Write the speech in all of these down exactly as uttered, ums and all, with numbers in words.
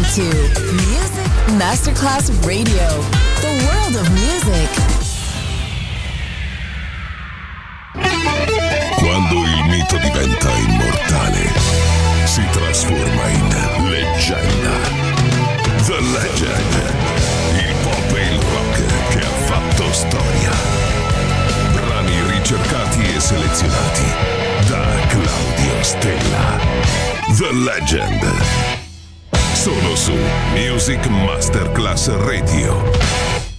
to Music Masterclass Radio, the world of music. Quando il mito diventa immortale, si trasforma in leggenda. The Legend, il pop e il rock che ha fatto storia. Brani ricercati e selezionati da Claudio Stella. The Legend. Solo su Music Masterclass Radio.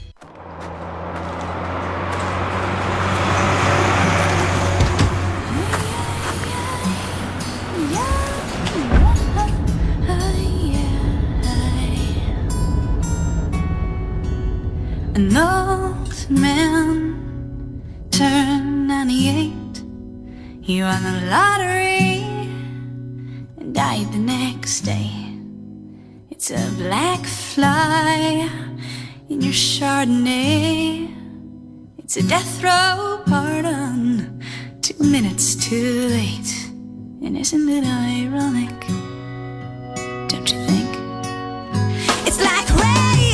An old man turned ninety-eight. He won the lottery and died the next day. It's a black fly in your Chardonnay. It's a death row pardon, two minutes too late. And isn't it ironic? Don't you think? It's like rain.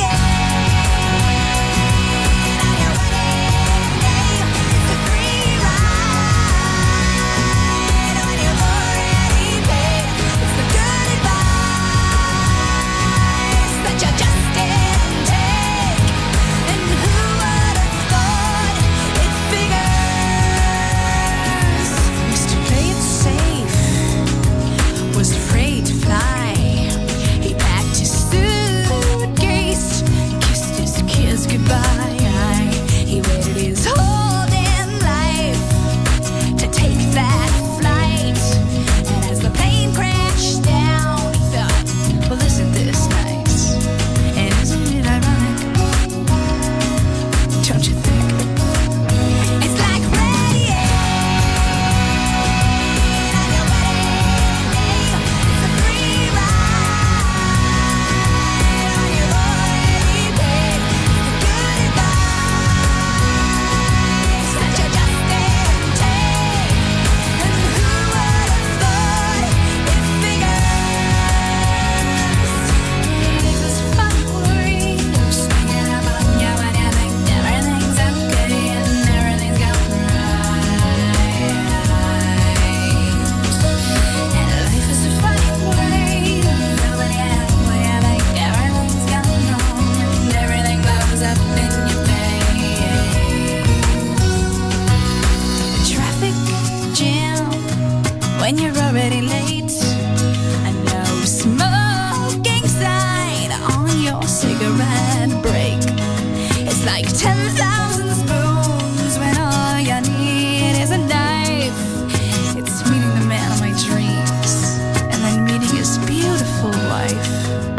When you're already late, I know smoking sign on your cigarette break. It's like ten thousand spoons when all you need is a knife. It's meeting the man of my dreams and then meeting his beautiful wife.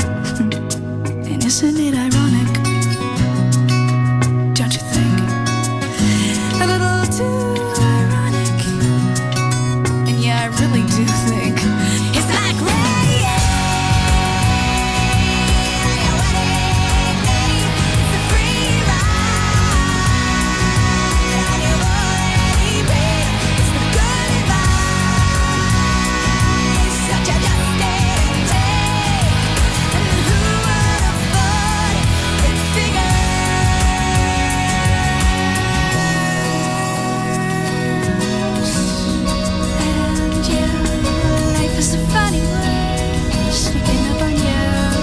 And isn't it ironic? Don't you think? A little too I really do think it's like rain. It's a free ride on your already paid. It's the good advice that you just didn't take. And who would have thought it figures? It's a funny word sneaking up on you.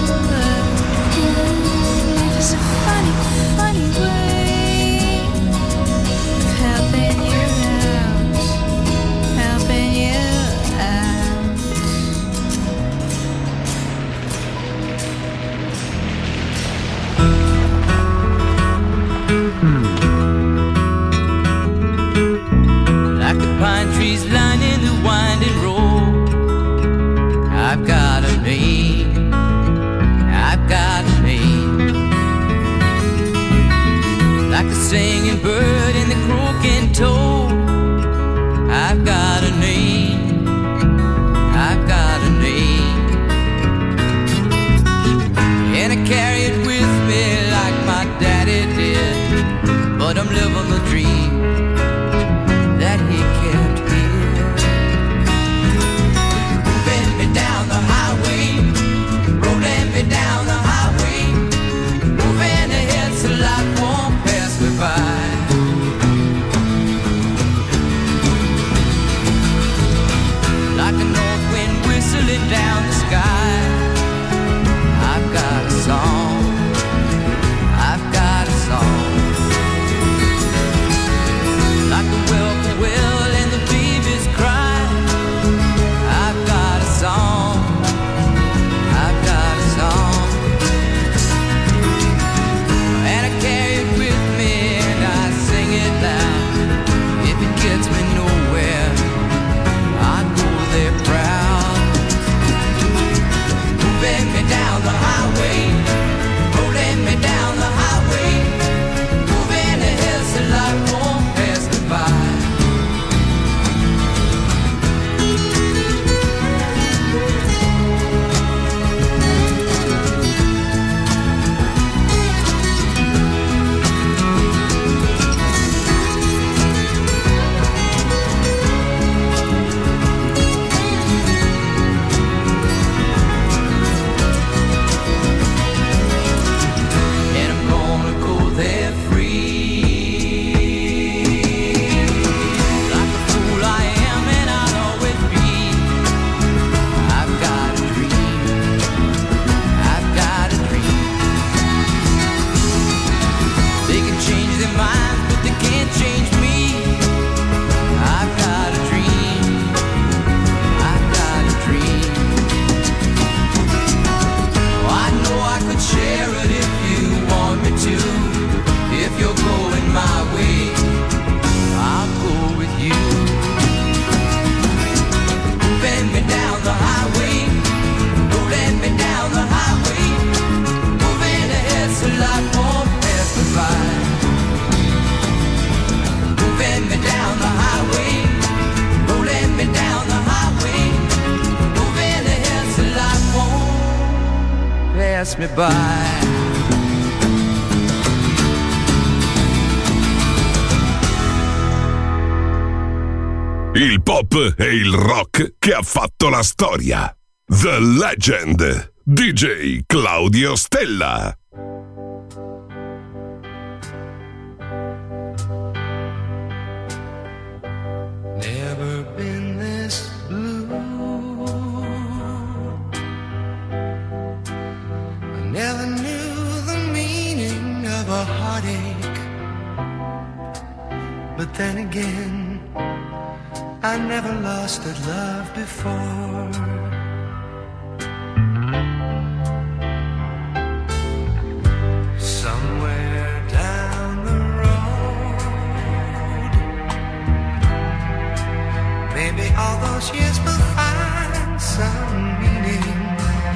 Life is a funny, funny way of helping you out, helping you out. Like the pine trees lining the winding road, I've got a name, I've got a name. Like the singing bird and the croaking toad, I've got a name, I've got a name. And I carry it with me like my daddy did, but I'm living the dream that he kept here. Moving me down the highway, rolling me down pass me by. Il pop e il rock che ha fatto la storia. The Legend, D J Claudio Stella. Never been this blue. I never knew the meaning of a heartache. But then again, I never lost a love before. Somewhere down the road, maybe all those years will find some meaning.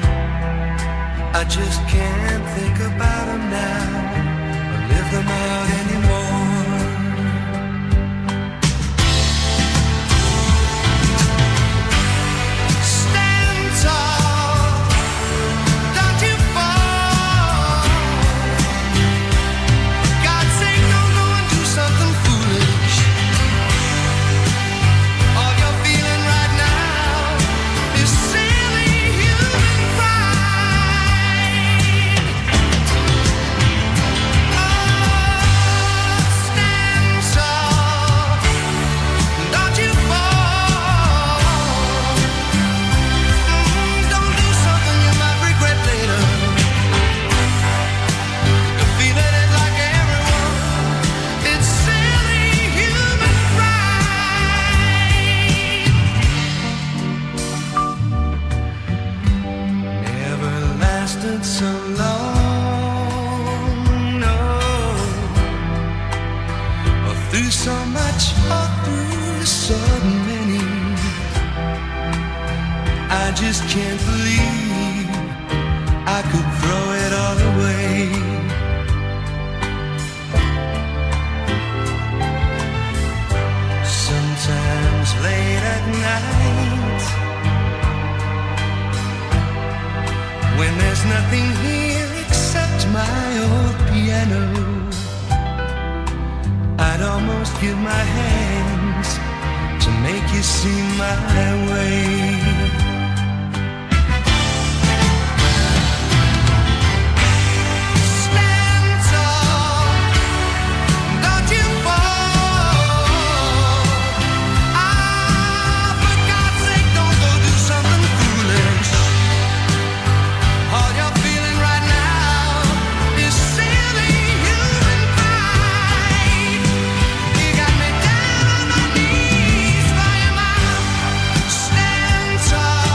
I just can't think about them now or live them out anymore. So long, no, or through so much, or through so many, I just can't believe I could throw it all away. Sometimes late at night, when there's nothing here except my old piano, I'd almost give my hands to make you see my way. Stand tall, don't you fall. Ah, for God's sake, don't go do something foolish. All you're feeling right now is silly human pride. You got me down on my knees, flying out. Stand tall.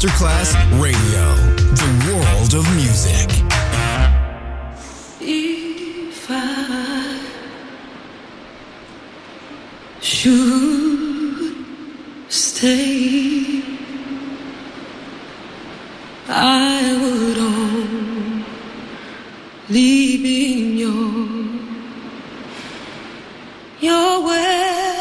Masterclass Radio, the world of music. If I should stay, I would only be in your, your way.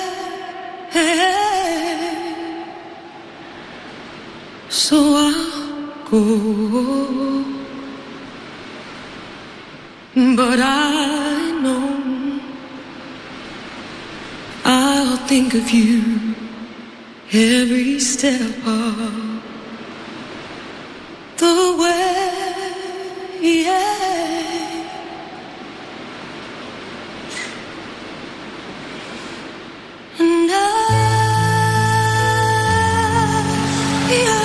So I'll go, but I know I'll think of you every step of the way, yeah. And I, yeah.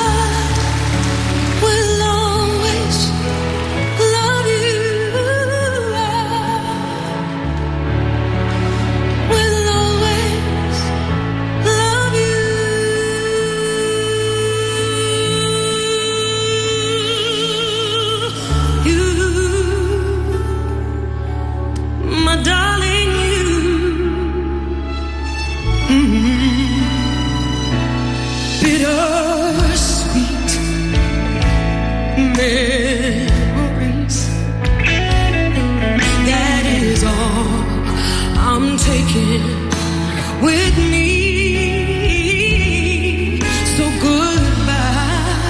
Memories, that is all I'm taking with me. So goodbye,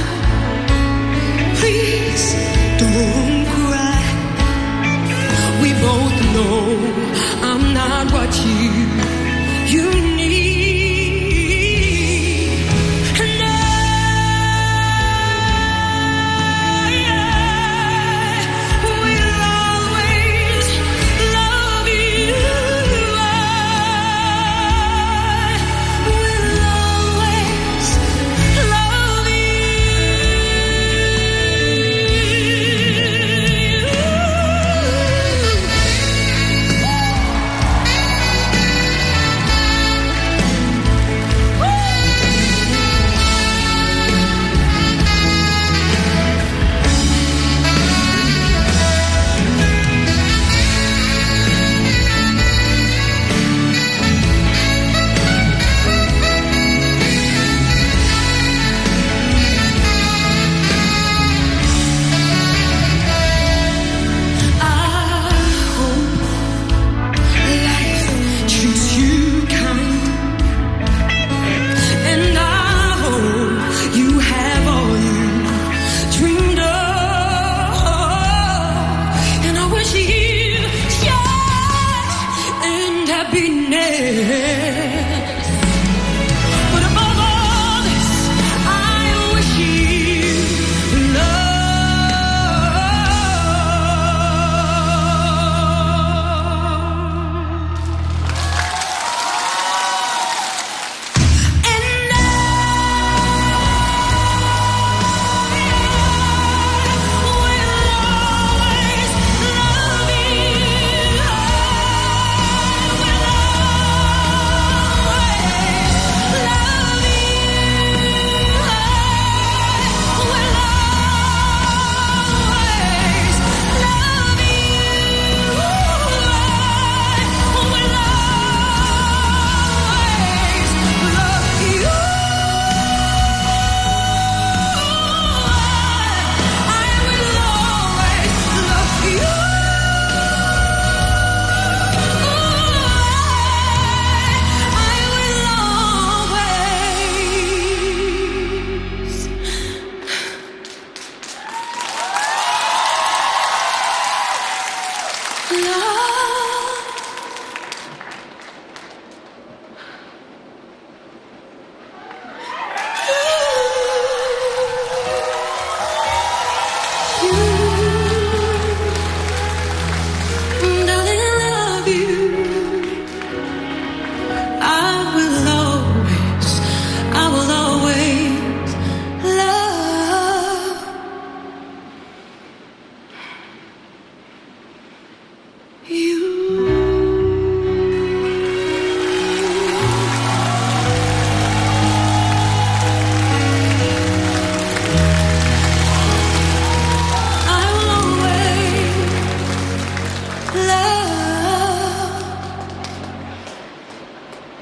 please don't cry. We both know I'm not what you you need.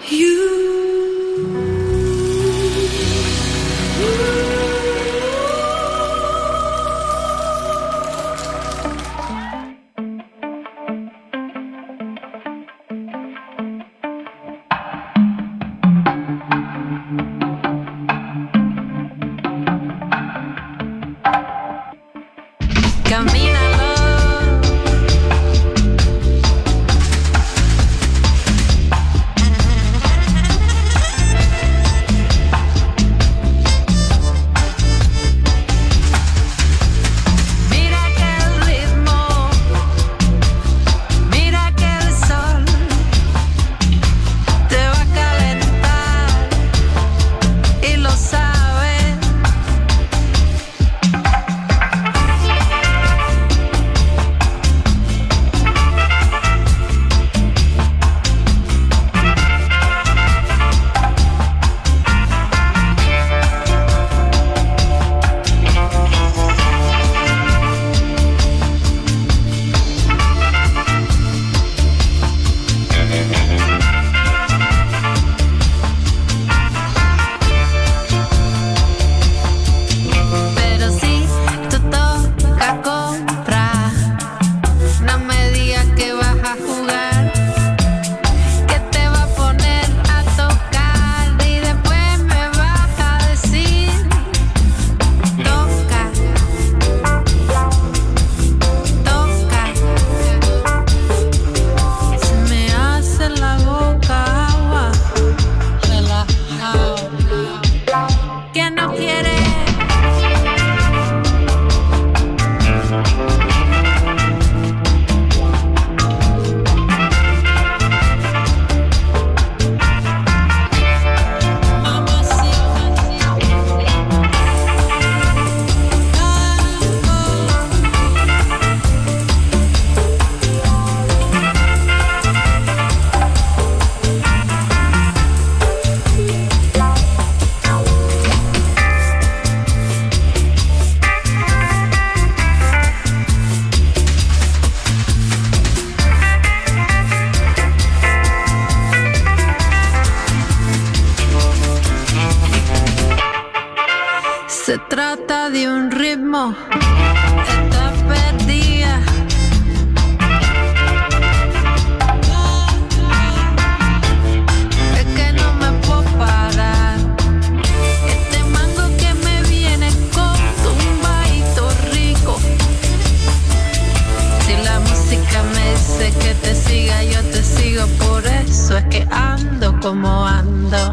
Se trata de un ritmo, está perdida. Es que no me puedo parar. Este mango que me viene con tumbadito rico. Si la música me dice que te siga, yo te sigo. Por eso es que ando como ando.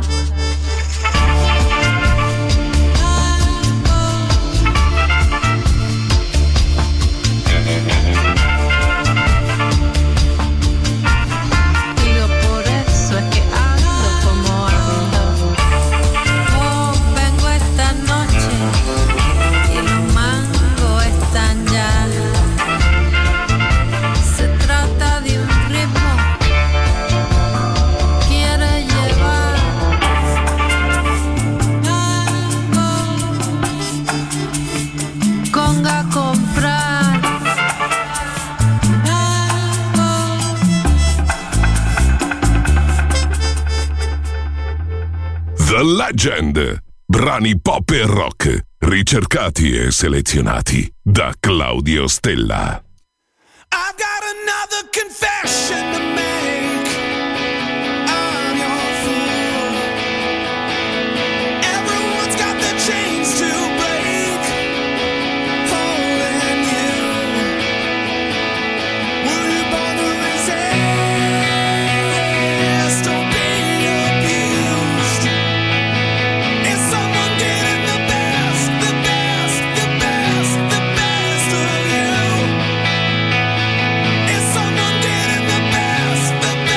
The Legend. Brani pop e rock, ricercati e selezionati da Claudio Stella. I've got another confession to make. I'm your fool. Everyone's got their chains to break. Holding you. Were you born to resist or be abused? Is someone getting the best, the best, the best, the best of you? Is someone getting the best, the best?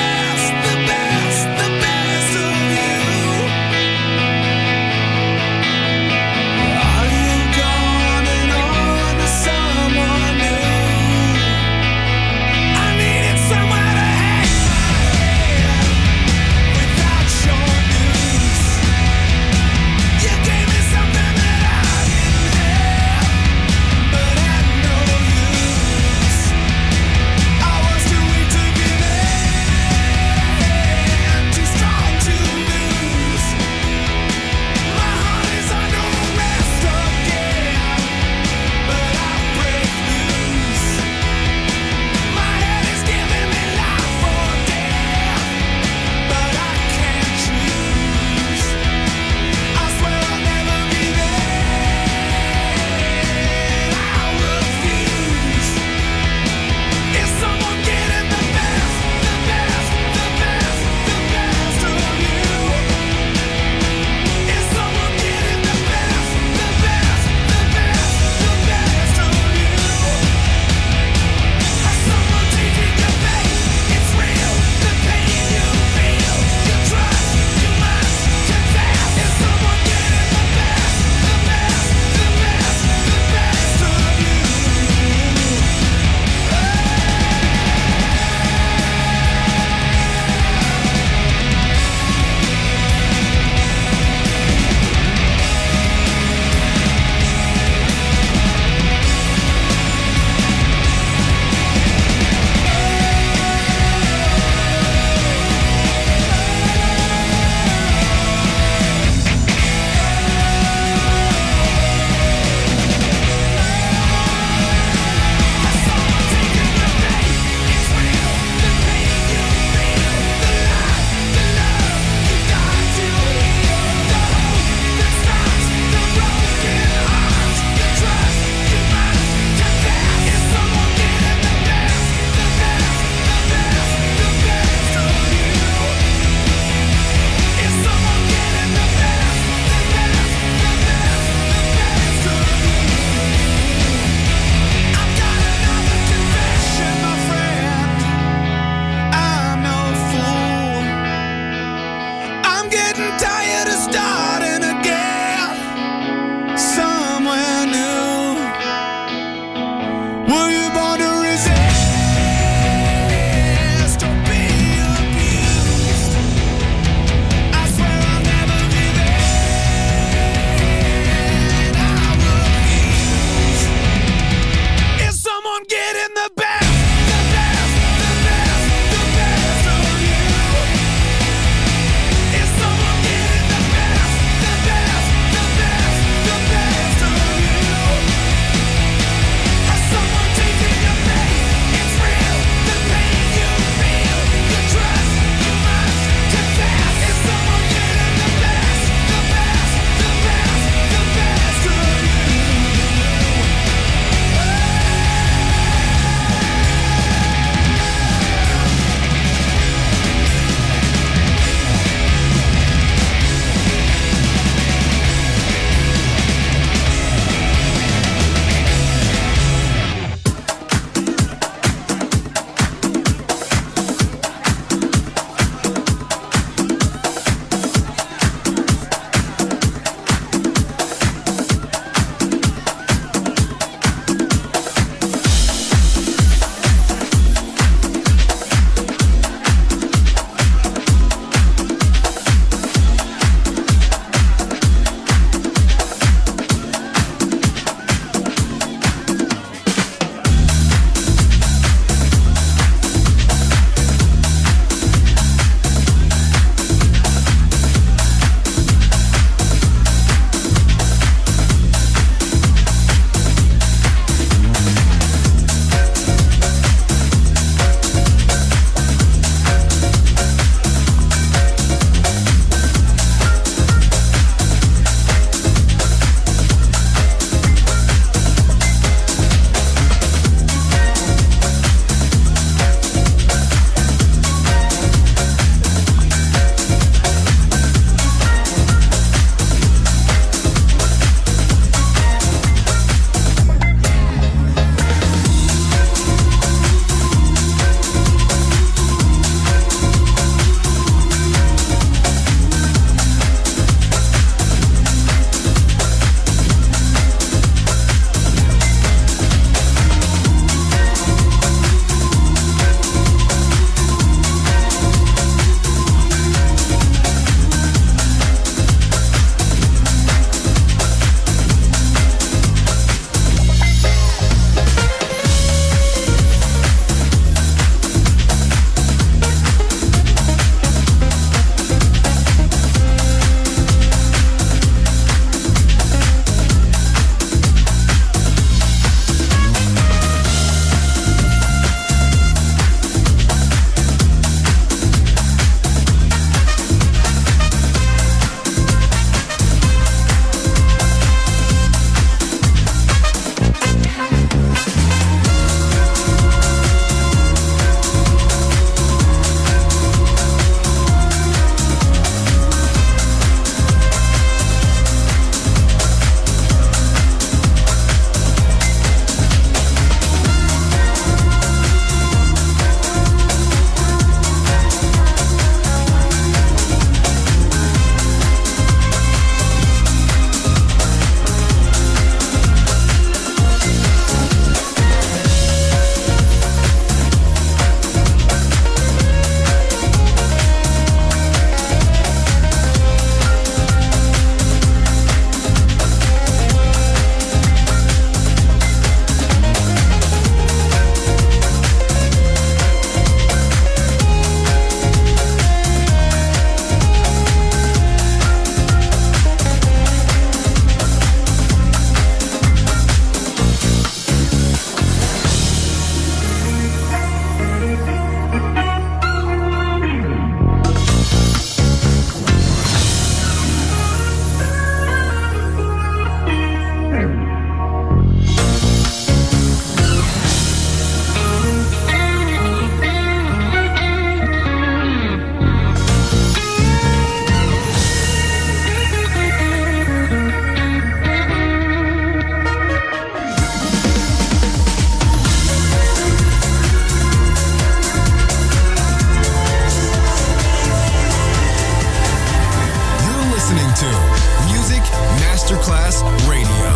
to Music Masterclass Radio.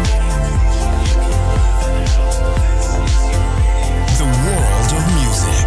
The world of music.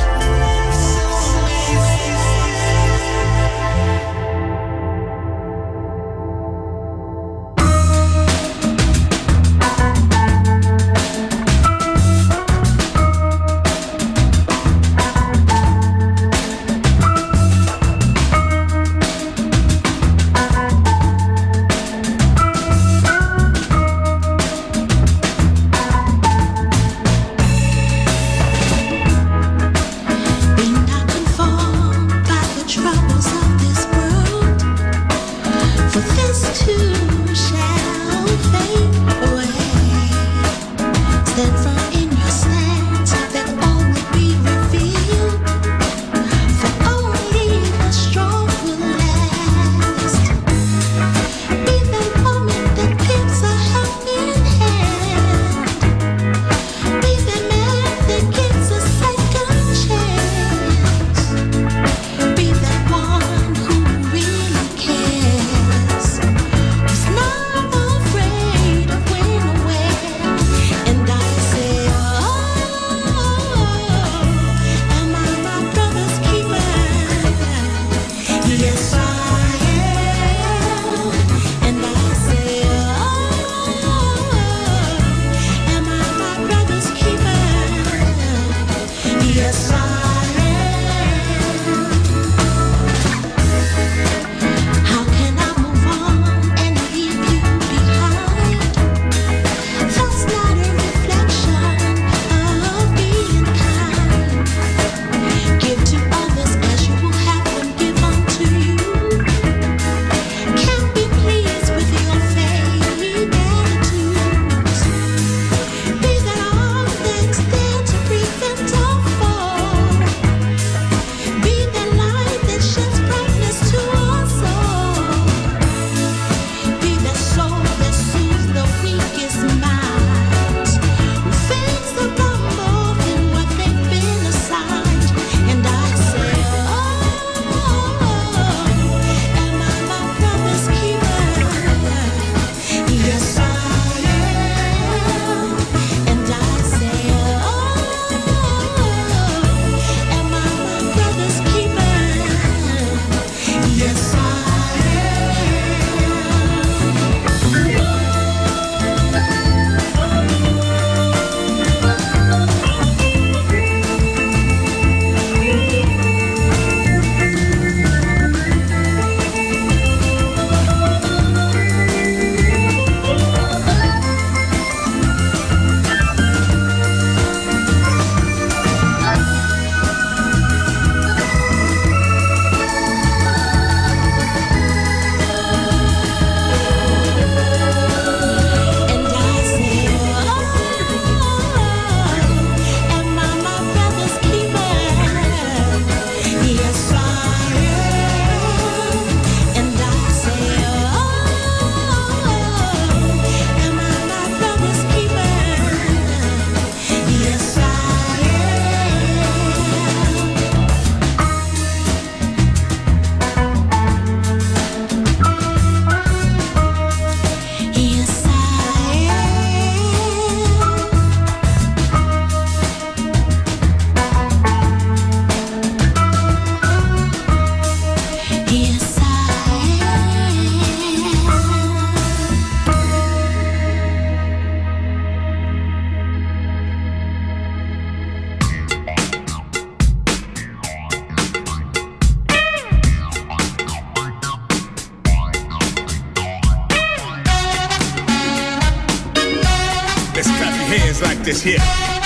hands like this here.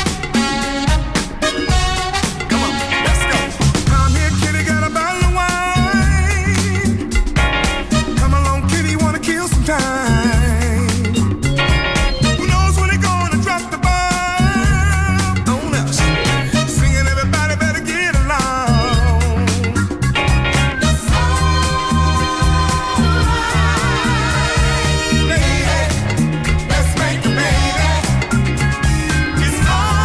Come on, let's go. Come here, kitty, got a bottle of wine. Come along, kitty, wanna kill some time. Who knows when they're gonna drop the bomb on us? Singing, everybody better get along. It's alright, lady. Let's make a baby. It's alright.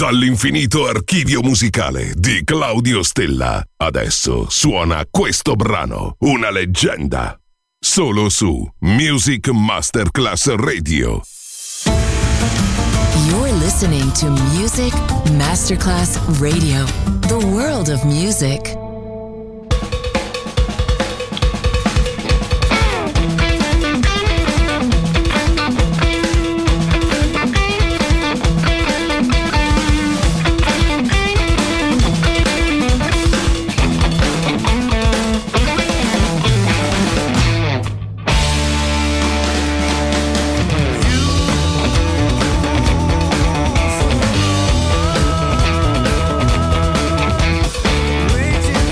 Dall'infinito archivio musicale di Claudio Stella, adesso suona questo brano, una leggenda, solo su Music Masterclass Radio. You're listening to Music Masterclass Radio, the world of music. Waiting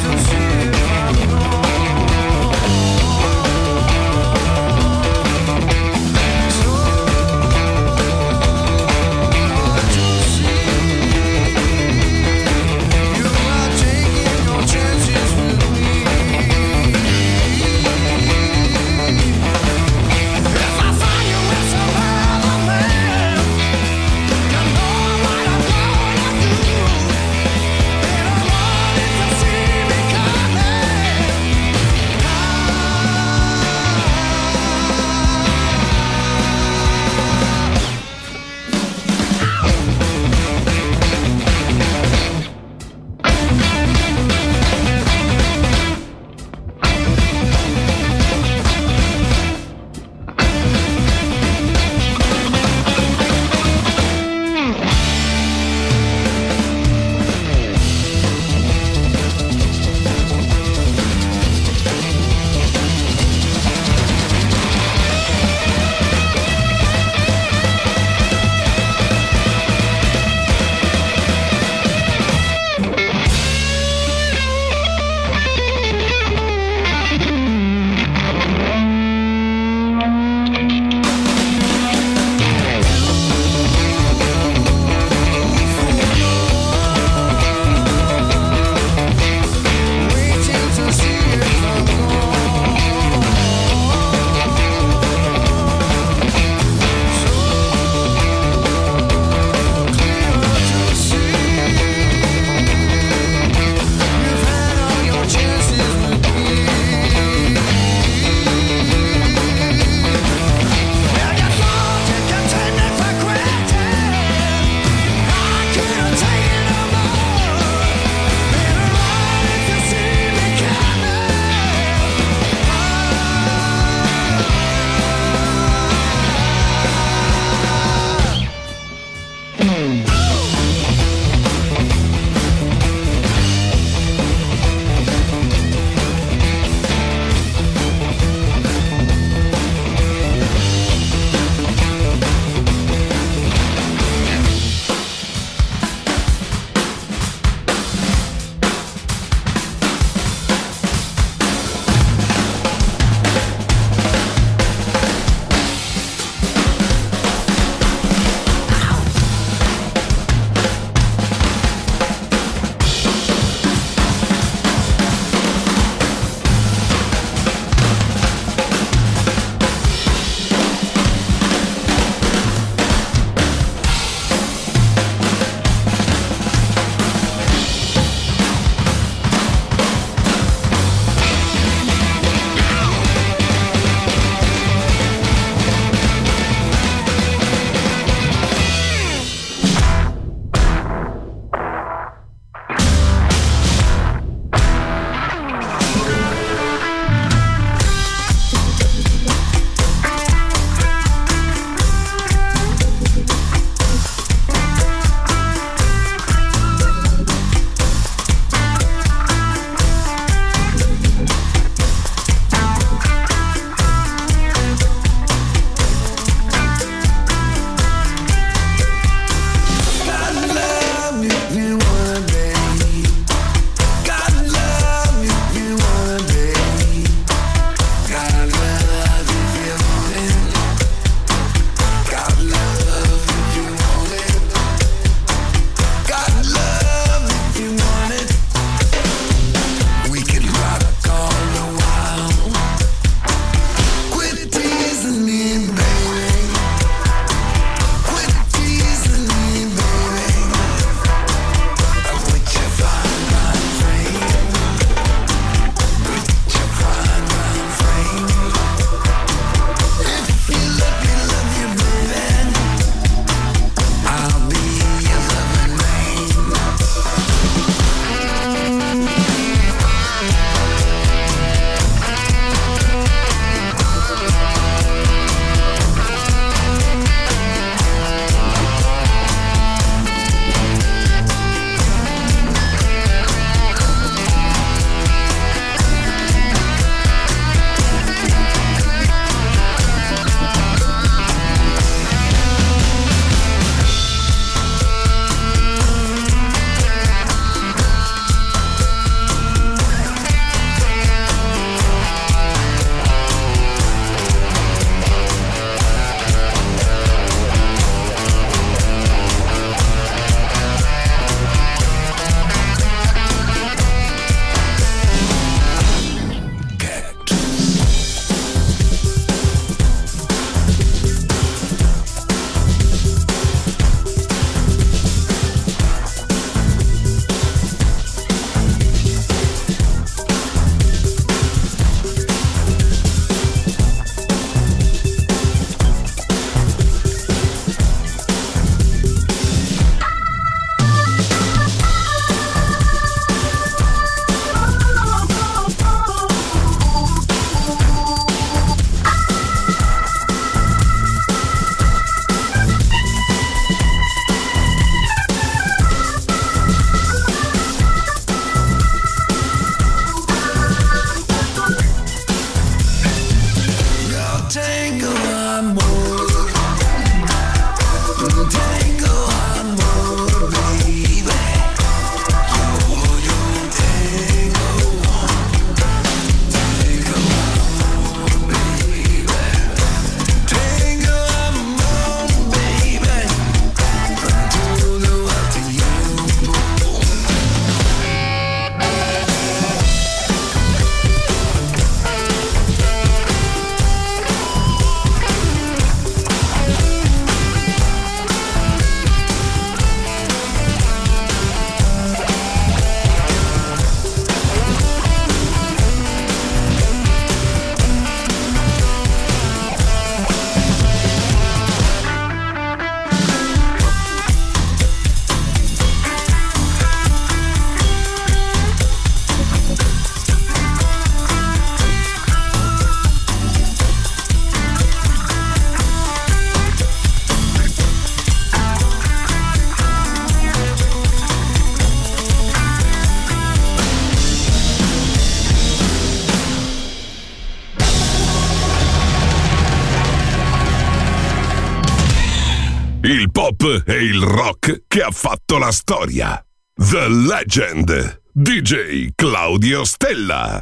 il pop e il rock che ha fatto la storia. The Legend, D J Claudio Stella.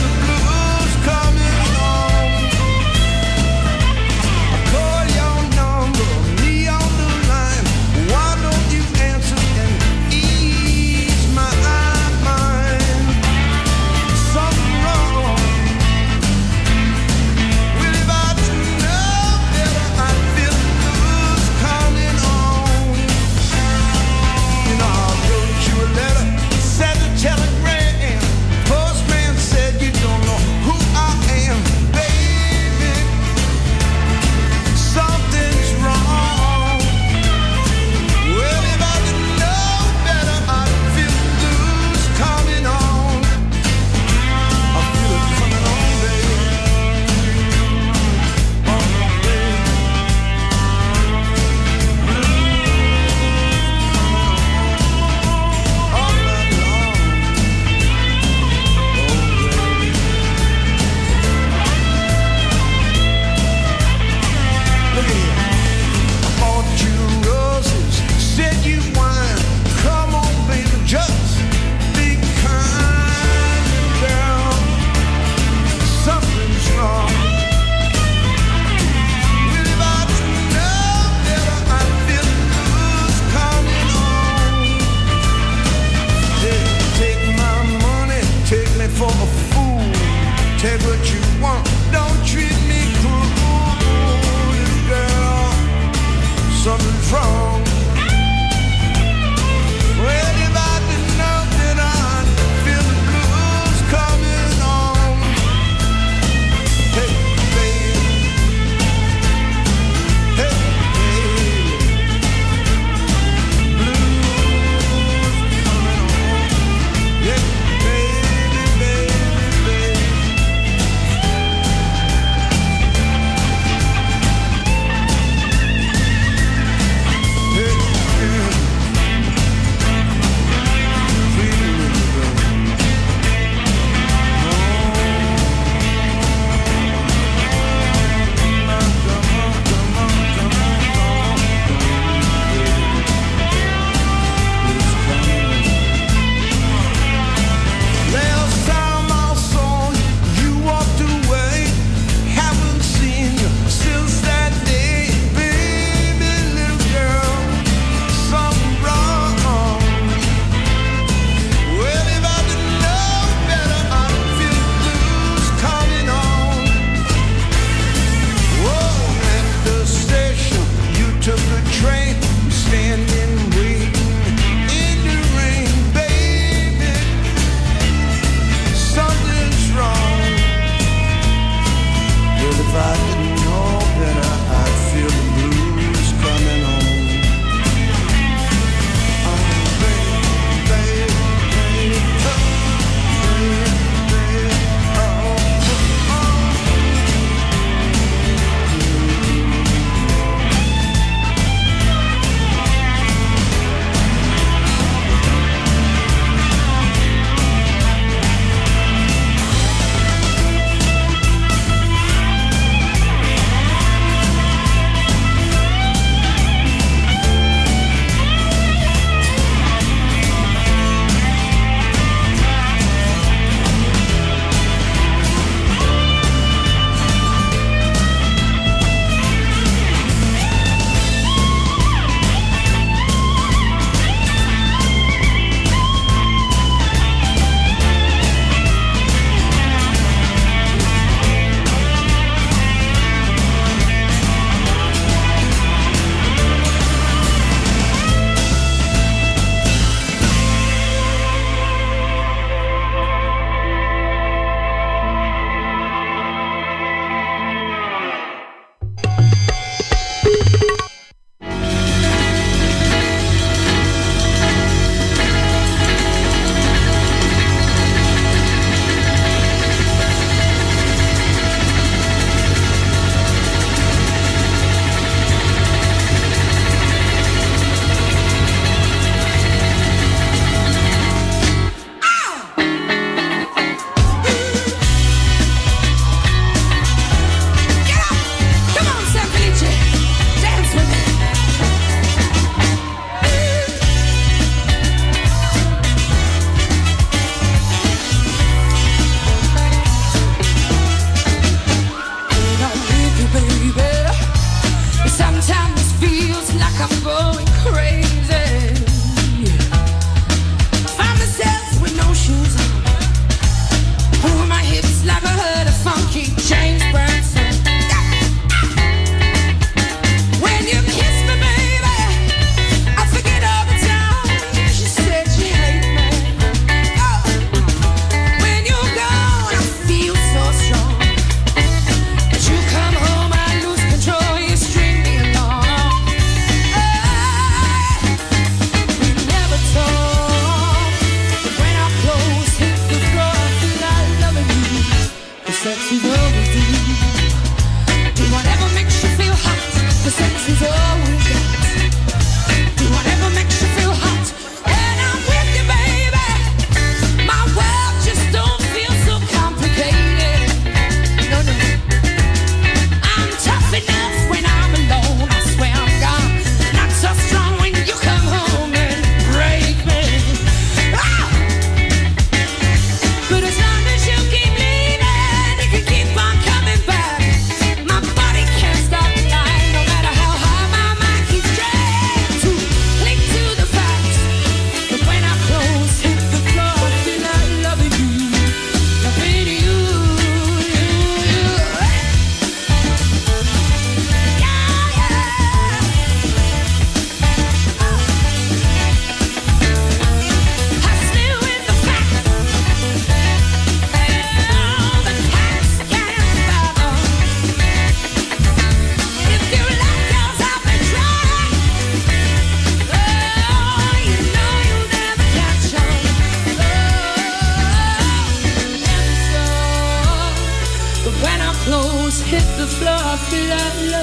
Call your number.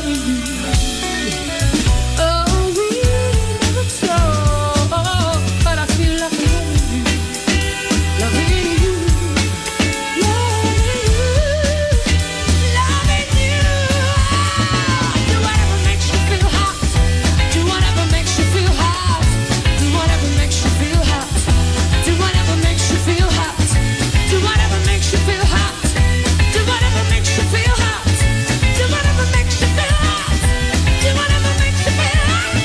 loving you. Oh, we never talk, but I feel like loving you, loving you, loving you, loving you. Do whatever makes you feel hot. Do whatever makes you feel hot. Do whatever makes you feel hot. Do whatever makes you feel hot. Do whatever makes you feel hot. Do whatever makes you feel hot. Do whatever makes you feel hot. Do whatever makes you feel hot.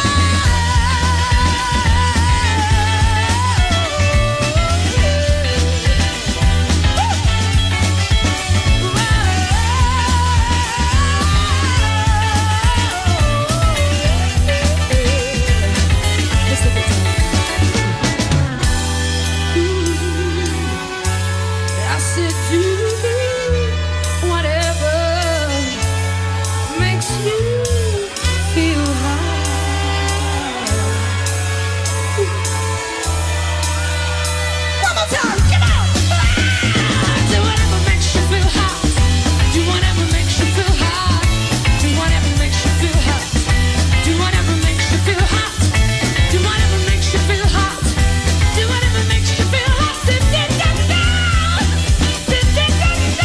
I said do whatever makes you feel high. One more time, come on! Do whatever makes you feel hot. Do whatever makes you feel hot. Do whatever makes you feel hot. Do whatever makes you feel hot. Do whatever makes you feel hot. Do whatever makes you feel hot. Do, do, do, do. Do, do, do, do.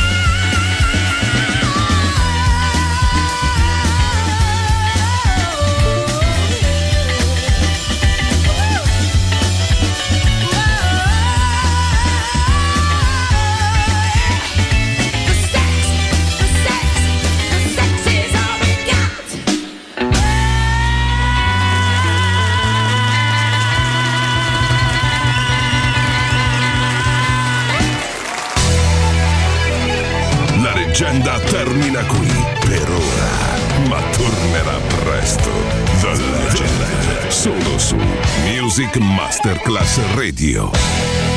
The sex, the sex, the sex is all we got. La leggenda termina qui per ora, ma tornerà presto. The Legend, solo su Music Masterclass Radio.